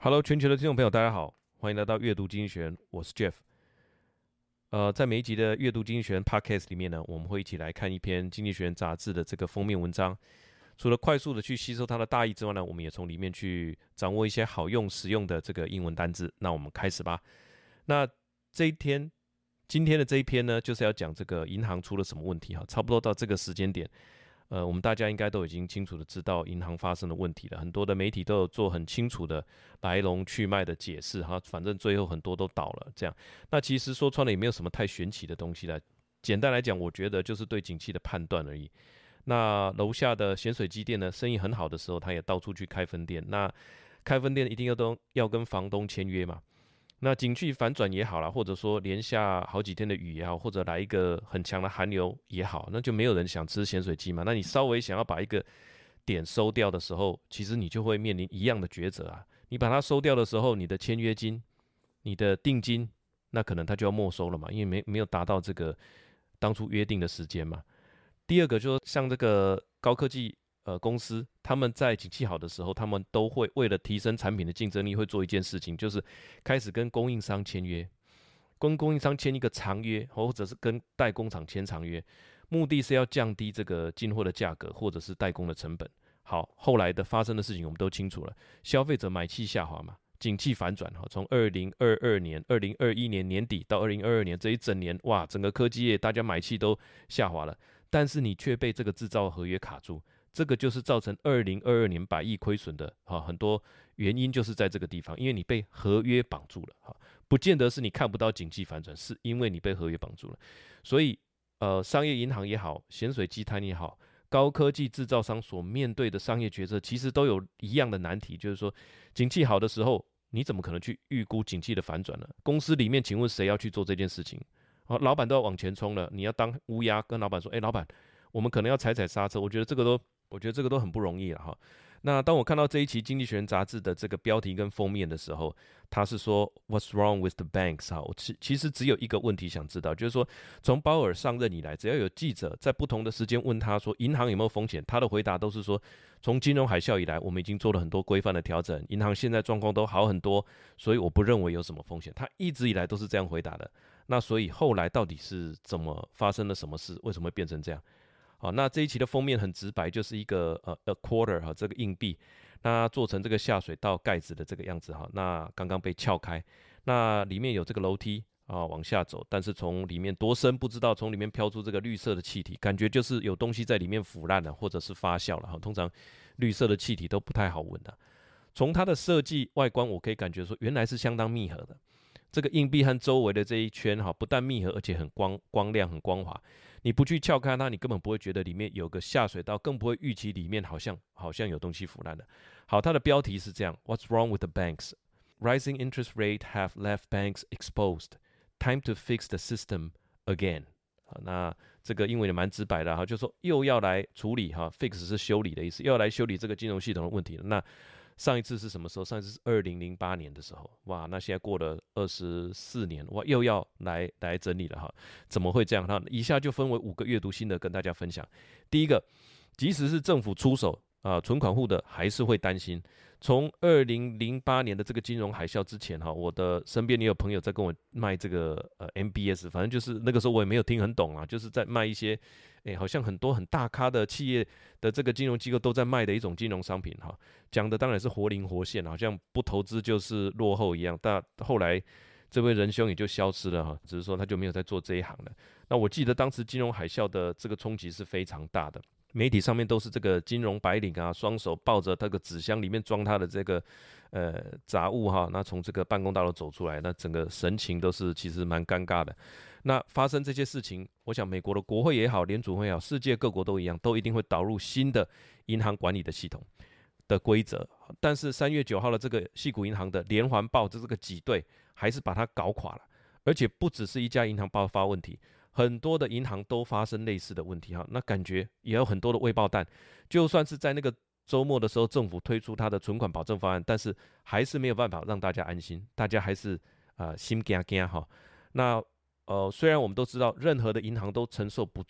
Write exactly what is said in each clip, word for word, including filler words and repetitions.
Hello， 全球的聽眾朋友，大家好，歡迎來到閱讀經濟學人，我是 Jeff。呃，在每一集的閱讀經濟學人 Podcast 裡面呢，我們會一起來看一篇經濟學人雜誌的這個封面文章。除了快速的去吸收它的大意之外呢，我們也從裡面去掌握一些好用、實用的這個英文單字。那我們開始吧。那這一天，今天的這一篇呢，就是要講這個銀行出了什麼問題哈。差不多到這個時間點。呃，我們大家應該都已經清楚的知道銀行發生的問題了，很多的媒體都有做很清楚的來龍去脈的解釋哈，反正最後很多都倒了這樣。那其實說穿了也沒有什麼太玄奇的東西了，簡單來講，我覺得就是對景氣的判斷而已。那樓下的鹹水雞店呢，生意很好的時候，他也到處去開分店。那開分店一定要都要跟房東簽約嘛。那景氣反轉也好啦，或者說連下好幾天的雨也好，或者來一個很強的寒流也好，那就沒有人想吃鹹水雞嘛。那你稍微想要把一個點收掉的時候，其實你就會面臨一樣的抉擇啊。你把它收掉的時候，你的簽約金、你的定金，那可能它就要沒收了嘛，因為沒沒有達到這個當初約定的時間嘛。第二個就是像這個高科技。呃，公司他們在景氣好的時候，他們都會為了提升產品的競爭力，會做一件事情，就是開始跟供應商簽約，跟供應商簽一個長約，或者是跟代工廠簽長約，目的是要降低這個進貨的價格，或者是代工的成本。好，後來的發生的事情我們都清楚了，消費者買氣下滑嘛，景氣反轉哈，從二零二二年、二零二一年年底到二零二二年這一整年，哇，整個科技業大家買氣都下滑了，但是你卻被這個製造合約卡住。這個就是造成二零二二年百億虧損的哈，很多原因就是在這個地方，因為你被合約綁住了哈，不見得是你看不到景氣反轉，是因為你被合約綁住了。所以呃，商業銀行也好，鹹水雞攤也好，高科技製造商所面對的商業決策，其實都有一樣的難題，就是說，景氣好的時候，你怎麼可能去預估景氣的反轉呢？公司裡面，請問誰要去做這件事情？啊，老闆都要往前衝了，你要當烏鴉，跟老闆說，哎，老闆，我們可能要踩踩剎車。我覺得這個都。我覺得這個都很不容易了哈。那當我看到這一期《經濟學人》雜誌的這個標題跟封面的時候，他是說 "What's wrong with the banks" 哈，我其其實只有一個問題想知道，就是說從鮑爾上任以來，只要有記者在不同的時間問他說銀行有沒有風險，他的回答都是說，從金融海嘯以來，我們已經做了很多規範的調整，銀行現在狀況都好很多，所以我不認為有什麼風險。他一直以來都是這樣回答的。那所以後來到底是怎麼發生了什麼事？為什麼會變成這樣？好，那這一期的封面很直白，就是一個呃 a quarter 哈，這個硬幣，那做成這個下水道蓋子的這個樣子哈，那剛剛被撬開，那裡面有這個樓梯啊往下走，但是從裡面多深不知道，從裡面飄出這個綠色的氣體，感覺就是有東西在裡面腐爛了，或者是發酵了哈。通常綠色的氣體都不太好聞的。從它的設計外觀，我可以感覺說原來是相當密合的。這個硬幣和周圍的這一圈哈，不但密合，而且很光光亮、很光滑。你不去撬開它，你根本不會覺得裡面有個下水道，更不會預期裡面好像好像有東西腐爛了。好，它的標題是這樣 ：What's wrong with the banks? Rising interest rates have left banks exposed. Time to fix the system again. 好，那這個英文也蠻直白的哈，就是說又要來處理哈 ，fix 是修理的意思，又要來修理這個金融系統的問題了。那上一次是什麼時候？上一次是二零零八年的時候，哇，那現在過了二十四年，哇，又要來來整理了哈？怎麼會這樣？那以下就分為五個閱讀心得跟大家分享。第一個，即使是政府出手啊，存款戶的還是會擔心。從二零零八年的這個金融海嘯之前哈，我的身邊也有朋友在跟我賣這個呃 M B S， 反正就是那個時候我也沒有聽很懂啊，就是在賣一些。誒，好像很多很大咖的企業的這個金融機構都在賣的一種金融商品哈，講的當然是活靈活現，好像不投資就是落後一樣。但後來這位仁兄也就消失了哈，只是說他就沒有在做這一行了。那我記得當時金融海嘯的這個衝擊是非常大的，媒體上面都是這個金融白領啊，雙手抱着那個紙箱裡面裝他的這個呃雜物哈，那從這個辦公大樓走出來，那整個神情都是其實蠻尷尬的。那發生這些事情，我想美國的國會也好，聯儲會也好，世界各國都一樣，都一定會導入新的銀行管理的系統的規則。但是三月九號的這個矽谷銀行的連環爆，這這個擠兌還是把它搞垮了，而且不只是一家銀行爆發問題，很多的銀行都發生類似的問題哈。那感覺也有很多的未爆彈，就算是在那個週末的時候，政府推出它的存款保證方案，但是還是沒有辦法讓大家安心，大家還是啊、呃、心驚驚哈。那呃，雖然我們都知道，任何的銀行都承受不住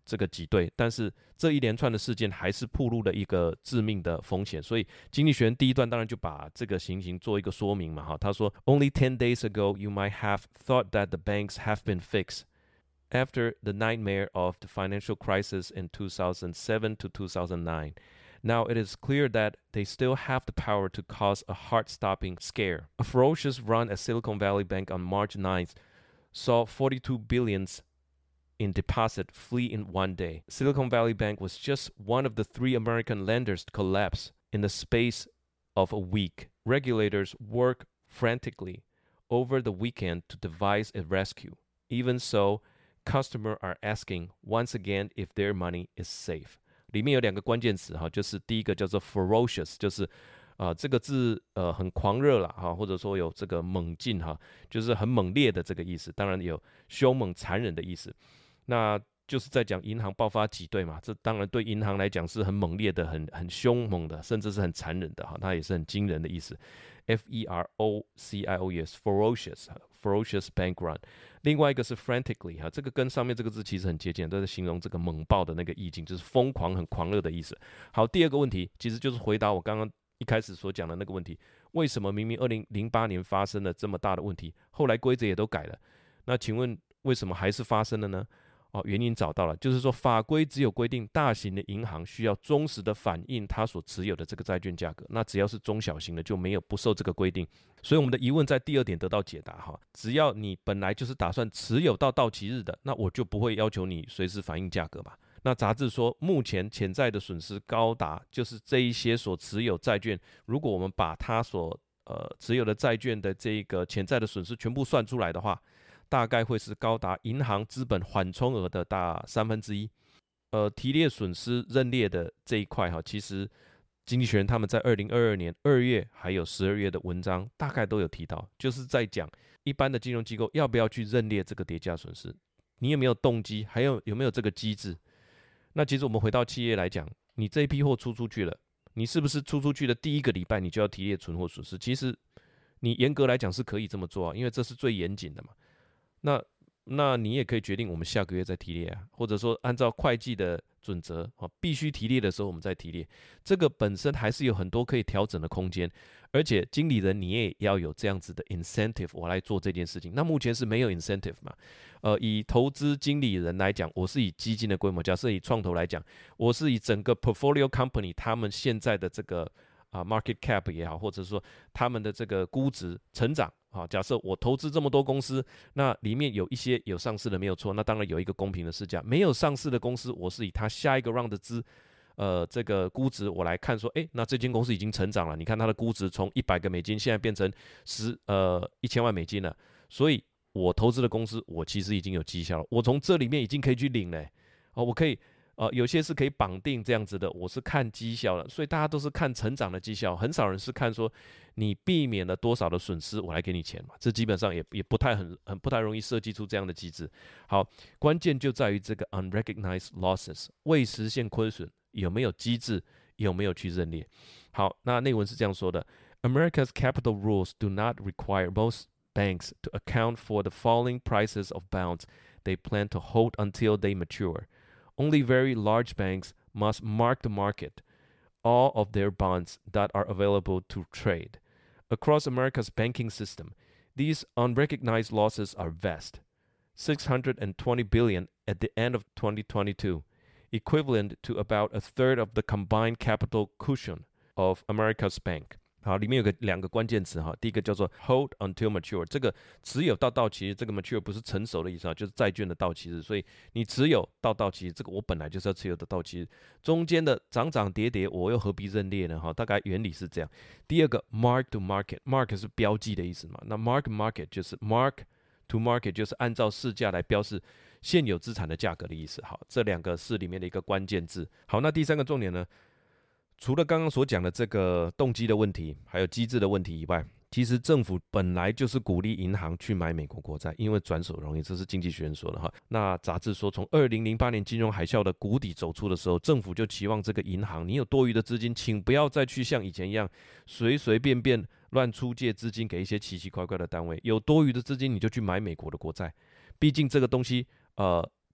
這個擠兌，但是這一連串的事件還是暴露了一個致命的風險。所以經濟學人第一段當然就把這個情形做一個說明嘛，哈，他說 Only ten days ago you might have thought that the banks have been fixed after the nightmare of the financial crisis in two thousand seven to two thousand nine. Now it is clear that they still have the power to cause a heart-stopping scare. A ferocious run at Silicon Valley Bank on March ninth saw forty-two billions in deposit flee in one day. Silicon Valley Bank was just one of the three American lenders to collapse in the space of a week. Regulators worked frantically over the weekend to devise a rescue. Even so, customers are asking once again if their money is safe. 裡面有兩個關鍵詞哈，就是第一個叫做 ferocious， 就是啊、呃、這個字呃很狂熱啦哈，或者說有這個猛進哈，就是很猛烈的這個意思。當然有兇猛殘忍的意思。那就是在講銀行爆發擠兌嘛，這當然對銀行來講是很猛烈的、很很兇猛的，甚至是很殘忍的哈，它也是很驚人的意思。F E R O C I O U S ferocious ferocious bank run。另外一個是 frantically 哈，這個跟上面這個字其實很接近，都是形容這個猛爆的那個意境，就是瘋狂、很狂熱的意思。好，第二個問題其實就是回答我剛剛一開始所講的那個問題：為什麼明明二零零八年發生了這麼大的問題，後來規則也都改了，那請問為什麼還是發生了呢？哦，原因找到了，就是說法規只有規定大型的銀行需要忠實的反映它所持有的這個債券價格，那只要是中小型的就沒有不受這個規定。所以我們的疑問在第二點得到解答哈，只要你本來就是打算持有到到期日的，那我就不會要求你隨時反映價格嘛。那雜誌說，目前潛在的損失高達，就是這一些所持有債券，如果我們把它所呃持有的債券的這個潛在的損失全部算出來的話，大概會是高達銀行資本緩衝額的大三分之一。呃，提列損失認列的這一塊哈，其實經濟學人他們在二零二二年二月還有十二月的文章大概都有提到，就是在講一般的金融機構要不要去認列這個跌價損失，你有沒有動機，還有有沒有這個機制。那其實我們回到企業來講，你這一批貨出出去了，你是不是出出去的第一個禮拜你就要提列存貨損失？其實你嚴格來講是可以這麼做啊，因為這是最嚴謹的嘛。那那你也可以決定我們下個月再提列啊，或者說按照會計的準則啊，必須提列的時候我們再提列。這個本身還是有很多可以調整的空間，而且經理人你也要有這樣子的 incentive， 我來做這件事情。那目前是沒有 incentive 嘛？呃，以投資經理人來講，我是以基金的規模，假設以創投來講，我是以整個 portfolio company 他們現在的這個啊 market cap 也好，或者說他們的這個估值成長。好，假設我投資這麼多公司，那裡面有一些有上市的沒有錯，那當然有一個公平的市價。沒有上市的公司，我是以它下一個 round 的資，呃，這個估值我來看說，誒，那這間公司已經成長了。你看它的估值從一百個美金現在變成十呃一千萬美金了，所以我投資的公司，我其實已經有績效了。我從這裡面已經可以去領了，哦，我可以。呃，有些是可以綁定這樣子的，我是看績效的，所以大家都是看成長的績效，很少人是看說你避免了多少的損失，我來給你錢嘛，這基本上也也不太很很不太容易設計出這樣的機制。好，關鍵就在於這個 unrecognized losses 未實現虧損有沒有機制，有沒有去認列。好，那內文是這樣說的 ：America's capital rules do not require most banks to account for the falling prices of bonds they plan to hold until they mature.Only very large banks must mark to market all of their bonds that are available to trade. Across America's banking system, these unrecognized losses are vast, six hundred twenty billion dollars at the end of twenty twenty-two, equivalent to about a third of the combined capital cushion of America's bank. 好，裡面有個兩個關鍵詞哈，第一個叫做 hold until mature， 這個持有到到期日，這個 mature 不是成熟的意思啊，就是債券的到期日，所以你持有到到期日，這個我本來就是要持有的到期日，中間的漲漲跌跌，我又何必認列呢？哈，大概原理是這樣。第二個 mark to market，mark 是標記的意思嘛，那 mark market 就是 mark to market 就是按照市價來標示現有資產的價格的意思。好，這兩個是裡面的一個關鍵字。好，那第三個重點呢？除了剛剛所講的這個動機的問題，還有機制的問題以外，其實政府本來就是鼓勵銀行去買美國國債，因為轉手容易，這是經濟學人說的哈。那雜誌說，從二零零八年金融海嘯的谷底走出的時候，政府就期望這個銀行，你有多餘的資金，請不要再去像以前一樣隨隨便便亂出借資金給一些奇奇怪怪的單位，有多餘的資金你就去買美國的國債，畢竟這個東西呃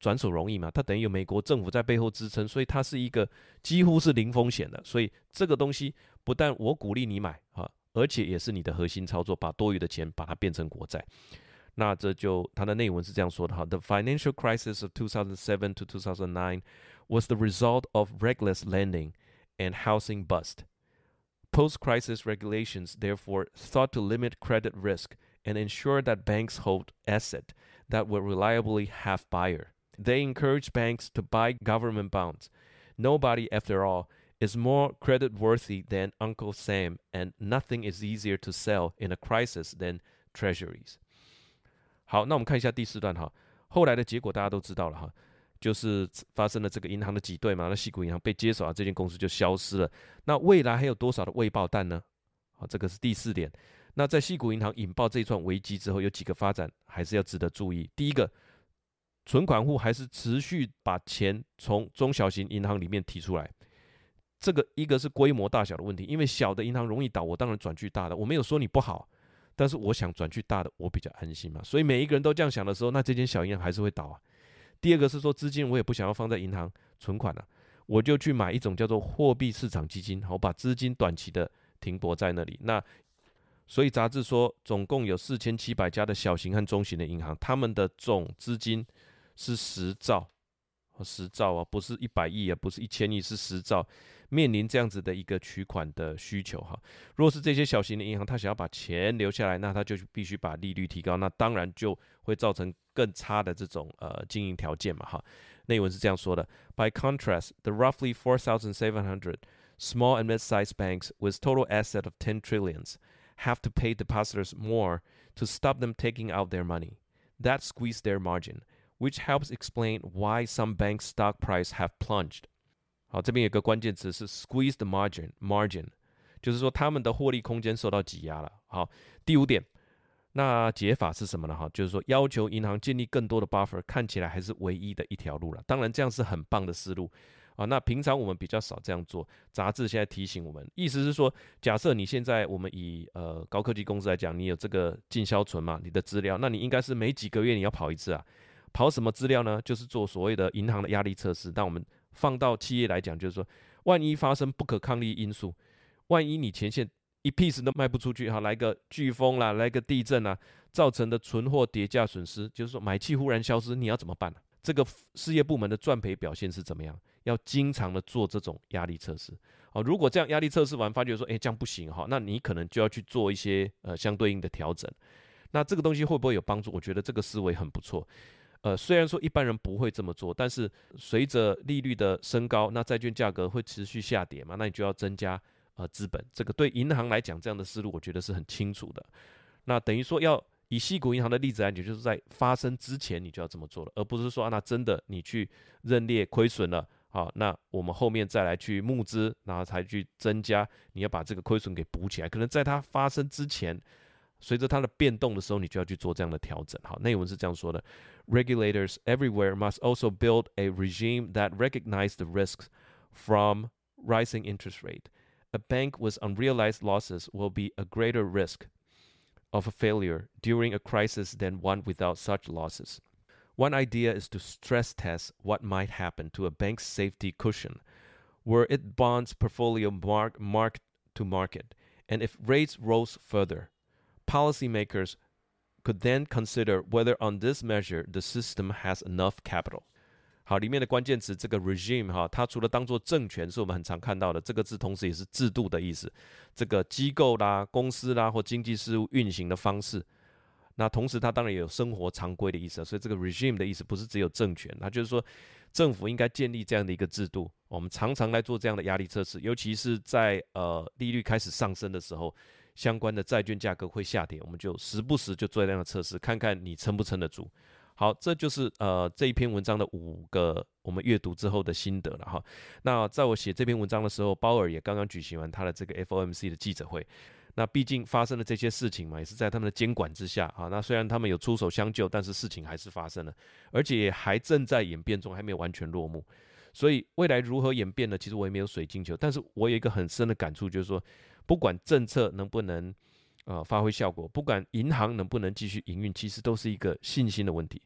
轉手容易嘛，它等於有美國政府在背後支撐，所以它是一個幾乎是零風險的。所以這個東西不但我鼓勵你買啊，而且也是你的核心操作，把多餘的錢把它變成國債。那這就它的內文是這樣說的哈 ：The financial crisis of two thousand seven to two thousand nine was the result of reckless lending and housing bust. Post-crisis regulations therefore sought to limit credit risk and ensure that banks hold assets that will reliably have buyer. They encourage banks to buy government bonds. Nobody, after all, is more credit-worthy than Uncle Sam, and nothing is easier to sell in a crisis than treasuries. 好，那我們看一下第四段哈。後來的結果大家都知道了哈，就是發生了這個銀行的擠兌嘛，那矽谷銀行被接手啊，這間公司就消失了。那未來還有多少的未爆彈呢？好，這個是第四點。那在矽谷銀行引爆這一串危機之後，有幾個發展還是要值得注意。第一個，存款戶還是持續把錢從中小型銀行裡面提出來。這個一個是規模大小的問題，因為小的銀行容易倒，我當然轉去大的。我沒有說你不好，但是我想轉去大的，我比較安心嘛。所以每一個人都這樣想的時候，那這間小銀行還是會倒啊。第二個是說，資金我也不想要放在銀行存款了、啊，我就去買一種叫做貨幣市場基金，我把資金短期的停泊在那裡。那所以雜誌說，總共有四千七百家的小型和中型的銀行，他們的總資金是十兆，十兆啊，不是一百億啊，不是一千億，是十兆，面臨這樣子的一個取款的需求哈。如果是這些小型的銀行，他想要把錢留下來，那他就必須把利率提高，那當然就會造成更差的這種呃經營條件嘛哈。內文是這樣說的 ：By contrast, the roughly four thousand seven hundred small and mid-sized banks with total asset of ten trillions have to pay depositors more to stop them taking out their money. That squeezed their margin, which helps explain why some banks' stock price have plunged. 好，這邊有個關鍵詞是 squeeze the margin, margin， 就是說他們的獲利空間受到擠壓了。好，第五點，那解法是什麼呢？哈，就是說要求銀行建立更多的 buffer， 看起來還是唯一的一條路了。當然，這樣是很棒的思路。啊，那平常我們比較少這樣做。雜誌現在提醒我們，意思是說，假設你現在我們以呃高科技公司來講，你有這個進銷存嘛，你的資料，那你應該是每幾個月你要跑一次啊。跑什麼資料呢？就是做所謂的銀行的壓力測試。那我們放到企業來講，就是說，萬一發生不可抗力因素，萬一你前線一 piece 都賣不出去，哈，來個颶風啦，來個地震啦，造成的存貨跌價損失，就是說買氣忽然消失，你要怎麼辦呢？這個事業部門的賺賠表現是怎麼樣？要經常的做這種壓力測試。好，如果這樣壓力測試完發覺說，哎，這樣不行哈，那你可能就要去做一些呃相對應的調整。那這個東西會不會有幫助？我覺得這個思維很不錯。呃，雖然說一般人不會這麼做，但是隨着利率的升高，那債券價格會持續下跌嘛，那你就要增加呃資本。這個對銀行來講，這樣的思路我覺得是很清楚的。那等於說要以矽谷銀行的例子來講，就是在發生之前你就要這麼做了，而不是說、啊、那真的你去認列虧損了。好，那我們後面再來去募資，然後才去增加，你要把這個虧損給補起來。可能在它發生之前，隨着它的變動的時候，你就要去做這樣的調整。好，內文是這樣說的 ：Regulators everywhere must also build a regime that recognizes the risks from rising interest rate. A bank with unrealized losses will be a greater risk of a failure during a crisis than one without such losses.One idea is to stress test what might happen to a bank's safety cushion, were its bonds portfolio mark, marked to market, and if rates rose further, policymakers could then consider whether on this measure the system has enough capital. 好，裡面的關鍵詞這個 regime 哈，它除了當作政權是我們很常看到的，這個字同時也是制度的意思，這個機構啦、公司啦或經濟事務運行的方式。那同時，它當然也有生活常規的意思，所以這個 regime 的意思不是只有政權，那就是說政府應該建立這樣的一個制度。我們常常來做這樣的壓力測試，尤其是在呃利率開始上升的時候，相關的債券價格會下跌，我們就時不時就做這樣的測試，看看你撐不撐得住。好，這就是呃這一篇文章的五個我們閱讀之後的心得了哈。那在我寫這篇文章的時候，鮑爾也剛剛舉行完他的這個 F O M C 的記者會。那畢竟發生了這些事情嘛，也是在他們的監管之下啊。那雖然他們有出手相救，但是事情還是發生了，而且也還正在演變中，還沒有完全落幕。所以未來如何演變呢？其實我也沒有水晶球，但是我有一個很深的感觸，就是說，不管政策能不能呃發揮效果，不管銀行能不能繼續營運，其實都是一個信心的問題。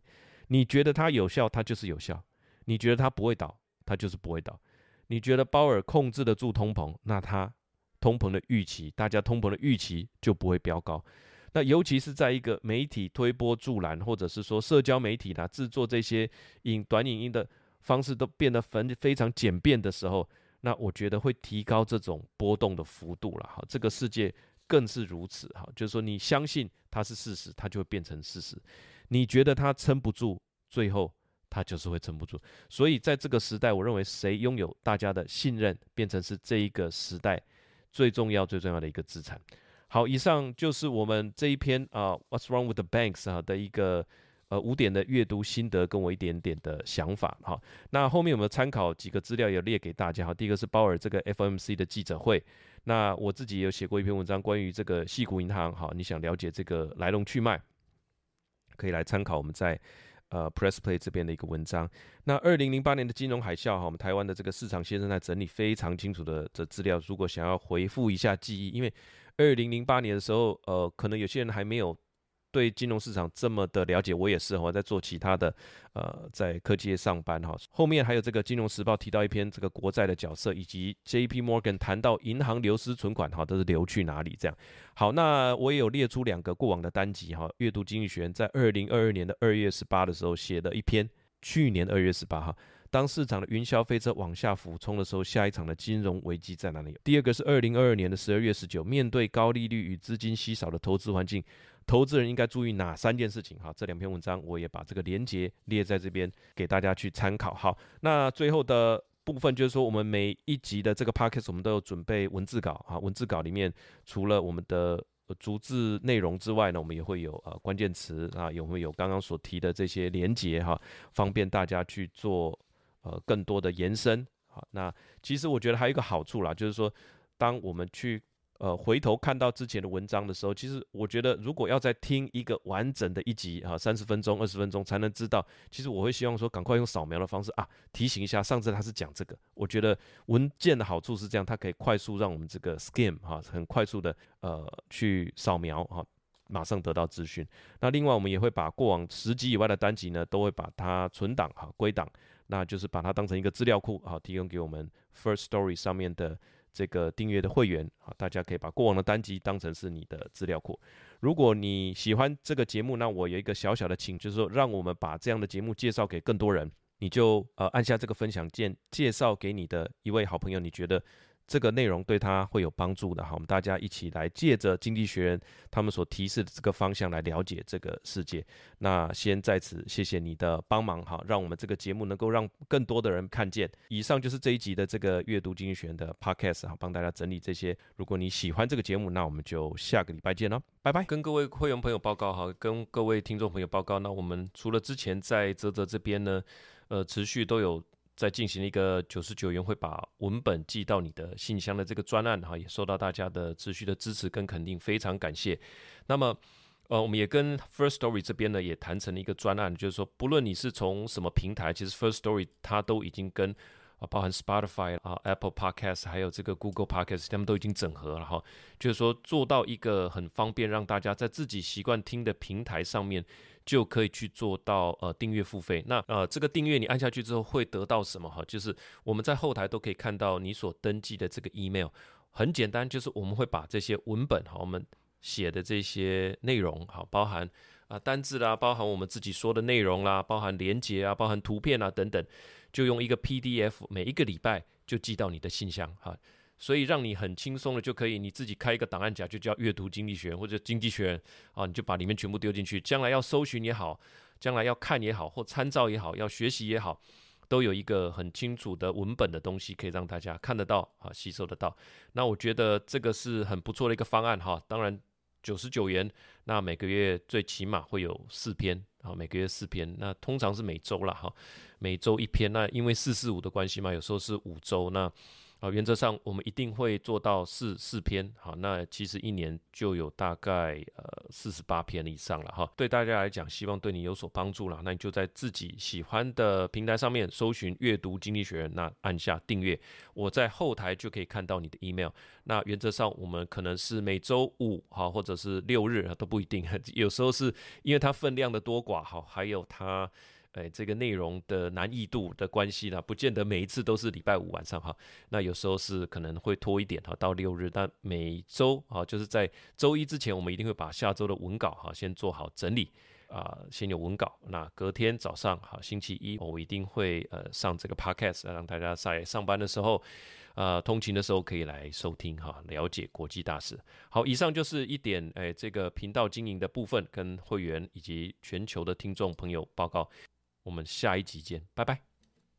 你覺得它有效，它就是有效；你覺得它不會倒，它就是不會倒。你覺得鮑爾控制得住通膨，那它通膨的預期，大家通膨的預期就不會飆高。那尤其是在一個媒體推波助瀾，或者是說社交媒體啦製作這些影短影音的方式都變得非常簡便的時候，那我覺得會提高這種波動的幅度了。哈，這個世界更是如此。哈，就是說你相信它是事實，它就會變成事實；你覺得它撐不住，最後它就是會撐不住。所以在這個時代，我認為誰擁有大家的信任，變成是這一個時代最重要、最重要的一個資產。好，以上就是我們這一篇啊、uh,，What's Wrong with the Banks 啊的一個呃五點的閱讀心得，跟我一點點的想法。好，那後面有沒有參考幾個資料也列給大家？好，第一個是鮑爾這個 F O M C 的記者會。那我自己也有寫過一篇文章，關於這個矽谷銀行。好，你想了解這個來龍去脈，可以來參考我們在呃 Press Play 這邊的一個文章。那二零零八年的金融海嘯，哈，我們台灣的這個市場先生在整理非常清楚的這資料。如果想要回復一下記憶，因為二零零八年的時候，呃，可能有些人還沒有對金融市場這麼的了解，我也是，我在做其他的，呃，在科技業上班哈。後面還有這個《金融時報》提到一篇這個國債的角色，以及 J P Morgan 談到銀行流失存款，哈，都是流去哪裡這樣。好，那我也有列出兩個過往的單集哈，閱讀經濟學人在二零二二年的二月十八的時候寫的一篇，去年二月十八號。當市場的雲霄飛車往下俯衝的時候，下一場的金融危機在哪裡？第二個是二零二二年的十二月十九，面對高利率與資金稀少的投資環境，投資人應該注意哪三件事情？好，這兩篇文章我也把這個連結列在這邊給大家去參考。好，那最後的部分就是說，我們每一集的這個 podcast 我們都有準備文字稿啊，文字稿裡面除了我們的逐字內容之外呢，我們也會有呃關鍵詞啊，有沒有剛剛所提的這些連結哈，方便大家去做。呃，更多的延伸，好，那其實我覺得還有一個好處啦，就是說，當我們去呃回頭看到之前的文章的時候，其實我覺得如果要再聽一個完整的一集啊，三十分鐘、二十分鐘才能知道，其實我會希望說，趕快用掃描的方式啊，提醒一下，上次他是講這個。我覺得文件的好處是這樣，它可以快速讓我們這個 skim 哈，很快速的呃去掃描哈。馬上得到資訊。那另外，我們也會把過往十集以外的單集呢，都會把它存檔哈，歸檔，那就是把它當成一個資料庫好，提供給我們 First Story 上面的這個訂閱的會員啊，大家可以把過往的單集當成是你的資料庫。如果你喜歡這個節目，那我有一個小小的請，就是說，讓我們把這樣的節目介紹給更多人，你就呃按下這個分享鍵，介紹給你的一位好朋友，你覺得這個內容對他會有幫助的，好，我們大家一起來借着經濟學人他們所提示的這個方向來了解這個世界。那先在此謝謝你的幫忙，哈，讓我們這個節目能夠讓更多的人看見。以上就是這一集的這個閱讀經濟學人的 podcast， 哈，幫大家整理這些。如果你喜歡這個節目，那我們就下個禮拜見了，拜拜。跟各位會員朋友報告，哈，跟各位聽眾朋友報告，那我們除了之前在嘖嘖這邊呢，呃，持續都有在進行一個九十九元會把文本寄到你的信箱的這個專案哈，也受到大家的持續的支持跟肯定，非常感謝。那麼，呃，我們也跟 First Story 這邊呢也談成了一個專案，就是說，不論你是從什麼平台，其實 First Story 它都已經跟啊，包含 Spotify 啊、Apple Podcast 還有這個 Google Podcast， 他們都已經整合了哈，就是說做到一個很方便，讓大家在自己習慣聽的平台上面，就可以去做到呃訂閱付費。那呃這個訂閱你按下去之後會得到什麼哈？就是我們在後台都可以看到你所登記的這個 email。很簡單，就是我們會把這些文本哈，我們寫的這些內容哈，包含啊單字啦，包含我們自己說的內容啦，包含連結啊，包含圖片啊等等，就用一個 P D F， 每一個禮拜就寄到你的信箱哈。所以讓你很輕鬆的就可以，你自己開一個檔案夾，就叫閱讀經濟學人或者經濟學人啊，你就把裡面全部丟進去。將來要搜尋也好，將來要看也好，或參照也好，要學習也好，都有一個很清楚的文本的東西可以讓大家看得到啊，吸收得到。那我覺得這個是很不錯的一個方案哈。當然九十九元，那每個月最起碼會有四篇啊，每個月四篇，那通常是每週啦哈，每週一篇。那因為四四五的關係嘛，有時候是五週那。 好，原則上我們一定會做到四四篇。好，那其實一年就有大概呃四十八篇以上了哈。對大家來講，希望對你有所幫助了。那你就在自己喜歡的平台上面搜尋閱讀經濟學人，那按下訂閱，我在後台就可以看到你的 email。那原則上我們可能是每週五好，或者是六日都不一定，有時候是因為它分量的多寡好，還有它。哎，這個內容的難易度的關係呢，不見得每一次都是禮拜五晚上哈。那有時候是可能會拖一點哈，到六日。但每週啊，就是在週一之前，我們一定會把下週的文稿哈先做好整理啊，先有文稿。那隔天早上哈，星期一我一定會呃上這個 podcast，讓大家在上班的時候。呃，通勤的時候可以來收聽哈，了解國際大事。好，以上就是一點哎，這個頻道經營的部分，跟會員以及全球的聽眾朋友報告。我們下一集見，拜拜。